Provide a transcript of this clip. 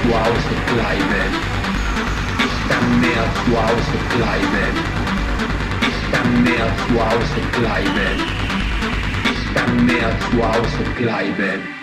zu Hause bleiben. Ich kann mehr zu Hause bleiben. Ich kann mehr zu Hause bleiben. Ich kann mehr zu Hause bleiben.